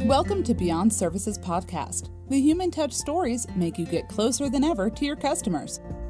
Welcome to Beyond Services Podcast. The human touch stories make you get closer than ever to your customers.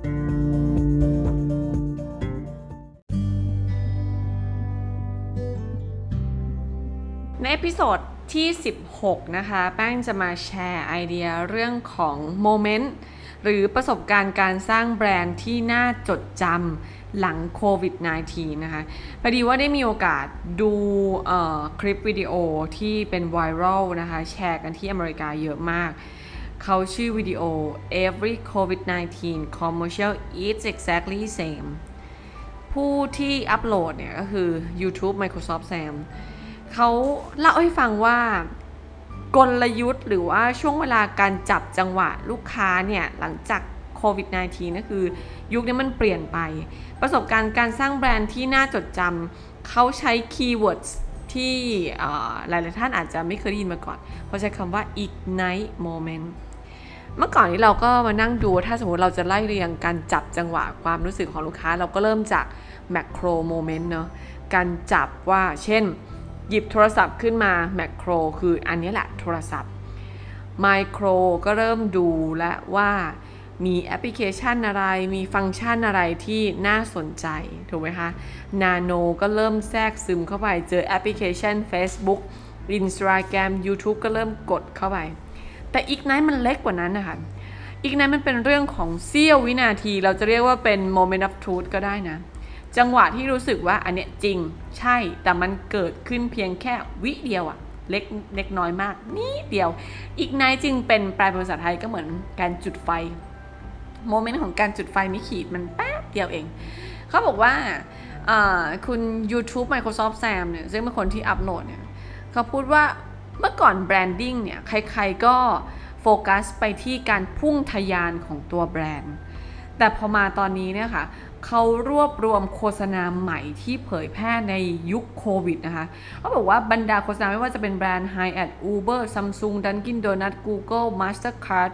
ในเอพิโซดที่16นะคะแป้งจะมาแชร์ไอเดียเรื่องของโมเมนต์หรือประสบการณ์การสร้างแบรนด์ที่น่าจดจำหลังโควิด -19 นะคะพอดีว่าได้มีโอกาสดูคลิปวิดีโอที่เป็นไวรัลนะคะแชร์กันที่อเมริกาเยอะมากเขาชื่อวิดีโอ Every COVID-19 commercial is exactly same ผู้ที่อัปโหลดเนี่ยก็คือ YouTube Microsoft Sam เขาเล่าให้ฟังว่ากลยุทธ์หรือว่าช่วงเวลาการจับจังหวะลูกค้าเนี่ยหลังจากโควิด -19 ก็คือยุคนี้มันเปลี่ยนไปประสบการณ์การสร้างแบรนด์ที่น่าจดจำเขาใช้คีย์เวิร์ดที่หลายๆท่านอาจจะไม่เคยได้ยินมาก่อนเขาใช้คำว่า ignite moment เมื่อก่อนนี้เราก็มานั่งดูถ้าสมมติเราจะไล่เรียงการจับจังหวะความรู้สึกของลูกค้าเราก็เริ่มจาก macro moment เนาะการจับว่าเช่นหยิบโทรศัพท์ขึ้นมาแมคโครคืออันนี้แหละโทรศัพท์ไมโครก็เริ่มดูและว่ามีแอปพลิเคชันอะไรมีฟังก์ชันอะไรที่น่าสนใจถูกไหมคะนาโนก็เริ่มแทรกซึมเข้าไปเจอแอปพลิเคชัน Facebook Instagram YouTube ก็เริ่มกดเข้าไปแต่อีกนั้นมันเล็กกว่านั้นนะคะอีกนั้นมันเป็นเรื่องของเสี้ยววินาทีเราจะเรียกว่าเป็น moment of truth ก็ได้นะจังหวะที่รู้สึกว่าอันเนี้ยจริงใช่แต่มันเกิดขึ้นเพียงแค่วิเดียวอะเล็กน้อยมากนิดเดียวอีกนายจึงเป็นแปลเป็นภาษาไทยก็เหมือนการจุดไฟโมเมนต์ของการจุดไฟไม่ขีดมันแป๊บเดียวเองเขาบอกว่าคุณ YouTube Microsoft Sam เนี่ยซึ่งเป็นคนที่อัพโหลดเนี่ยเขาพูดว่าเมื่อก่อนแบรนดิ้งเนี่ยใครๆก็โฟกัสไปที่การพุ่งทะยานของตัวแบรนด์แต่พอมาตอนนี้เนี่ยค่ะเขารวบรวมโฆษณาใหม่ที่เผยแพร่ในยุคโควิดนะคะเขาบอกว่าบรรดาโฆษณาไม่ว่าจะเป็นแบรนด์ Hyatt Uber Samsung Dunkin Donuts Google Mastercard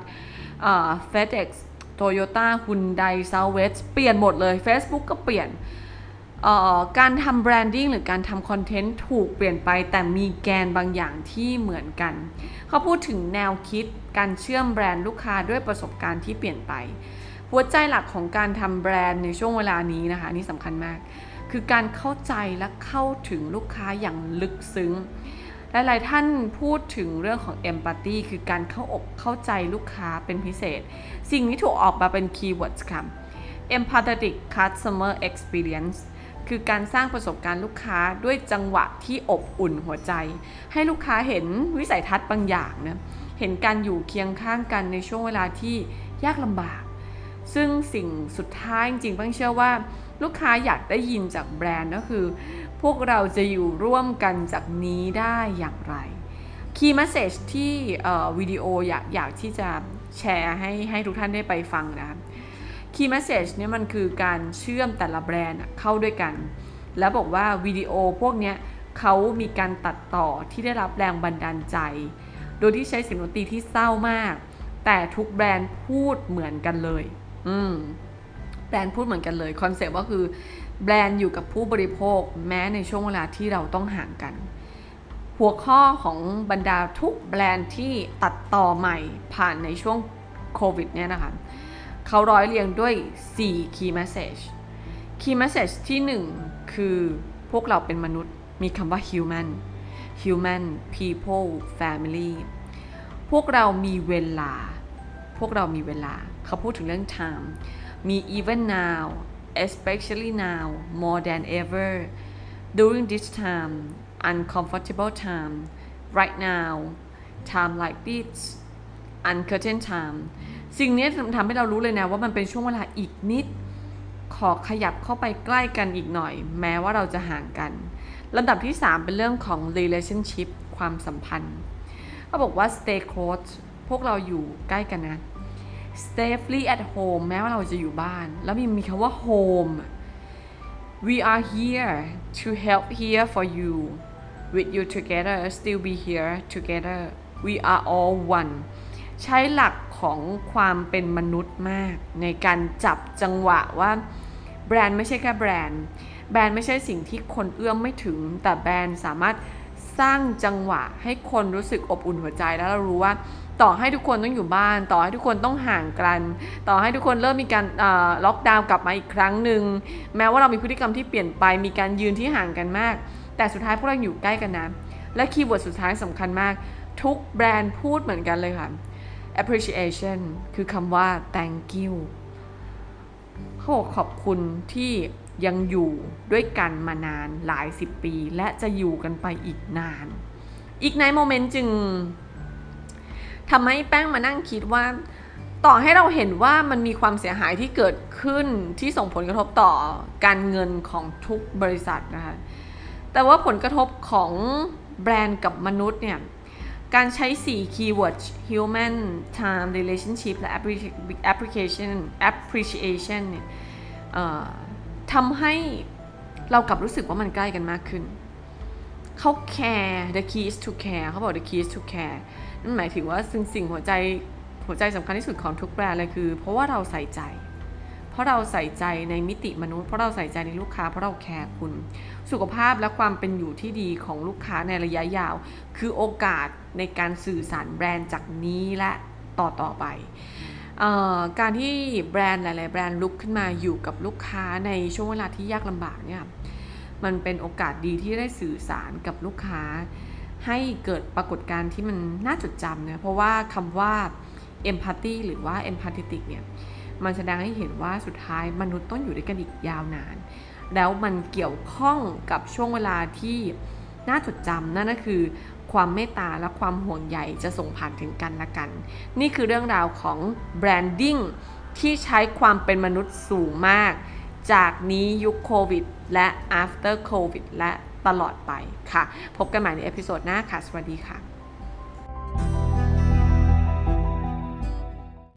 FedEx Toyota Hyundai Southwest เปลี่ยนหมดเลย Facebook ก็เปลี่ยนการทำแบรนดิ้งหรือการทำคอนเทนต์ถูกเปลี่ยนไปแต่มีแกนบางอย่างที่เหมือนกันเขาพูดถึงแนวคิดการเชื่อมแบรนด์ลูกค้าด้วยประสบการณ์ที่เปลี่ยนไปหัวใจหลักของการทำแบรนด์ในช่วงเวลานี้นะคะนี่สำคัญมากคือการเข้าใจและเข้าถึงลูกค้าอย่างลึกซึ้งหลายๆท่านพูดถึงเรื่องของ empathy คือการเข้าอกเข้าใจลูกค้าเป็นพิเศษสิ่งนี้ถูกออกมาเป็นคีย์เวิร์ดค่ะ empathetic customer experience คือการสร้างประสบการณ์ลูกค้าด้วยจังหวะที่อบอุ่นหัวใจให้ลูกค้าเห็นวิสัยทัศน์บางอย่างนะเห็นการอยู่เคียงข้างกันในช่วงเวลาที่ยากลำบากซึ่งสิ่งสุดท้ายจริงๆป้าเชื่อว่าลูกค้าอยากได้ยินจากแบรนด์ก็คือพวกเราจะอยู่ร่วมกันจากนี้ได้อย่างไร Key Message ที่วิดีโออยากที่จะแชร์ให้ทุกท่านได้ไปฟังนะคะ Key Message เนี่ยมันคือการเชื่อมแต่ละแบรนด์เข้าด้วยกันแล้วบอกว่าวิดีโอพวกนี้เขามีการตัดต่อที่ได้รับแรงบันดาลใจโดยที่ใช้เสียงดนตรีที่เศร้ามากแต่ทุกแบรนด์พูดเหมือนกันเลยแบรนด์พูดเหมือนกันเลยคอนเซ็ปต์ก็คือแบรนด์อยู่กับผู้บริโภคแม้ในช่วงเวลาที่เราต้องห่างกันหัวข้อของบรรดาทุกแบรนด์ที่ตัดต่อใหม่ผ่านในช่วงโควิดเนี่ยนะคะเขาร้อยเรียงด้วย4 key message key message ที่1คือพวกเราเป็นมนุษย์มีคำว่า human people family พวกเรามีเวลาเขาพูดถึงเรื่อง time มี even now especially now more than ever during this time uncomfortable time right now time like this uncertain time สิ่งนี้ทำให้เรารู้เลยนะว่ามันเป็นช่วงเวลาอีกนิดขอขยับเข้าไปใกล้กันอีกหน่อยแม้ว่าเราจะห่างกันลำดับที่3เป็นเรื่องของ relationship ความสัมพันธ์เขาบอกว่า stay close พวกเราอยู่ใกล้กันนะsafely at home แม้ว่าเราจะอยู่บ้านแล้วมีคำว่า home we are here to help here for you with you together still be here together we are all one ใช้หลักของความเป็นมนุษย์มากในการจับจังหวะว่าแบรนด์ไม่ใช่แค่แบรนด์ไม่ใช่สิ่งที่คนเอื้อมไม่ถึงแต่แบรนด์สามารถสร้างจังหวะให้คนรู้สึกอบอุ่นหัวใจแล้วเรารู้ว่าต่อให้ทุกคนต้องอยู่บ้านต่อให้ทุกคนต้องห่างกันต่อให้ทุกคนเริ่มมีการล็อกดาวน์กลับมาอีกครั้งหนึ่งแม้ว่าเรามีพฤติกรรมที่เปลี่ยนไปมีการยืนที่ห่างกันมากแต่สุดท้ายพวกเราอยู่ใกล้กันนะและคีย์เวิร์ดสุดท้ายสำคัญมากทุกแบรนด์พูดเหมือนกันเลยค่ะ appreciation คือคำว่า thank you เขาบอกขอบคุณที่ยังอยู่ด้วยกันมานานหลายสิบปีและจะอยู่กันไปอีกนานอีกในโมเมนต์จึงทำให้แป้งมานั่งคิดว่าต่อให้เราเห็นว่ามันมีความเสียหายที่เกิดขึ้นที่ส่งผลกระทบต่อการเงินของทุกบริษัทนะคะแต่ว่าผลกระทบของแบรนด์กับมนุษย์เนี่ยการใช้4 keyword human time relationship และ appreciation เนี่ยทำให้เรากลับรู้สึกว่ามันใกล้กันมากขึ้นเขา care the key is to care เขาบอก the key is to care นั่นหมายถึงว่าสิ่งหัวใจสำคัญที่สุดของทุกแบรนด์เลยคือเพราะว่าเราใส่ใจในมิติมนุษย์เพราะเราใส่ใจในลูกค้าเพราะเราแคร์คุณสุขภาพและความเป็นอยู่ที่ดีของลูกค้าในระยะยาวคือโอกาสในการสื่อสารแบรนด์จากนี้และต่อไปการที่แบรนด์หลายๆแบรนด์ลุกขึ้นมาอยู่กับลูกค้าในช่วงเวลาที่ยากลำบากเนี่ยมันเป็นโอกาสดีที่ได้สื่อสารกับลูกค้าให้เกิดปรากฏการณ์ที่มันน่าจดจำนะเพราะว่าคำว่า empathy หรือว่า empathetic เนี่ยมันแสดงให้เห็นว่าสุดท้ายมนุษย์ต้องอยู่ด้วยกันอีกยาวนานแล้วมันเกี่ยวข้องกับช่วงเวลาที่น่าจดจำนั่นก็คือความเมตตาและความห่วงใยจะส่งผ่านถึงกันและกันนี่คือเรื่องราวของแบรนดิ้งที่ใช้ความเป็นมนุษย์สูงมากจากนี้ยุคโควิดและ after covid และตลอดไปค่ะพบกันใหม่ในเอพิโซดหน้าค่ะสวัสดีค่ะ